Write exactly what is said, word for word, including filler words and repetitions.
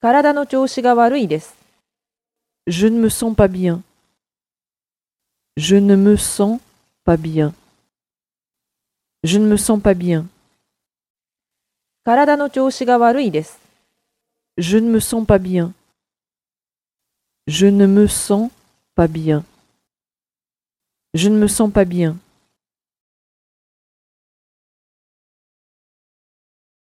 体の調子が悪いです。 Je ne me sens pas bien. Je ne me sens pas bien. Je ne me sens pas bien. 体の調子が悪いです。 Je ne me sens pas bien. Je ne me sens pas bien. Je ne me sens pas bien.